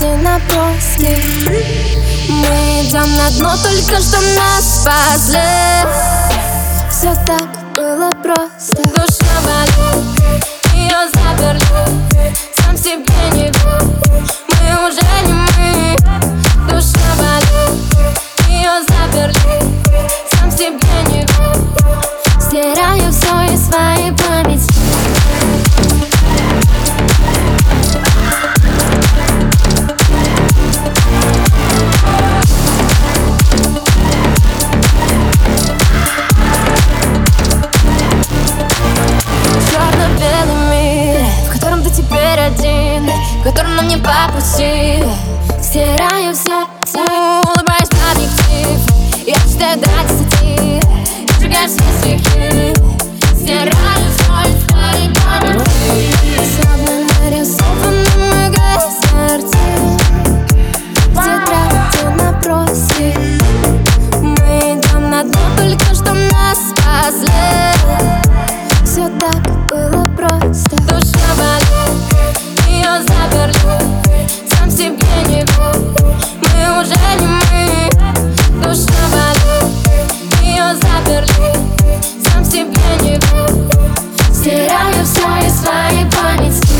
тетради наброски. Мы идем на дно, только что нас спасли. Все так было просто. Душа болит, ее заперли, сам себе не верю, мы уже не мы. Душа болит, ее заперли, сам себе не верю, стираю все из своей памяти. В котором нам не по пути. Стираю все, улыбаюсь в объектив. Я читаю до 10, я сжигаю все стихи. Стираю все из своей памяти. Словно нарисованы мы картины в тетради наброски. Мы идем на дно, только что нас спасли. Все так было просто. Душа болит, ее заперли, сам себе не верю, мы уже не мы. Душа болит, ее заперли, сам себе не верю, стираю все из своей памяти.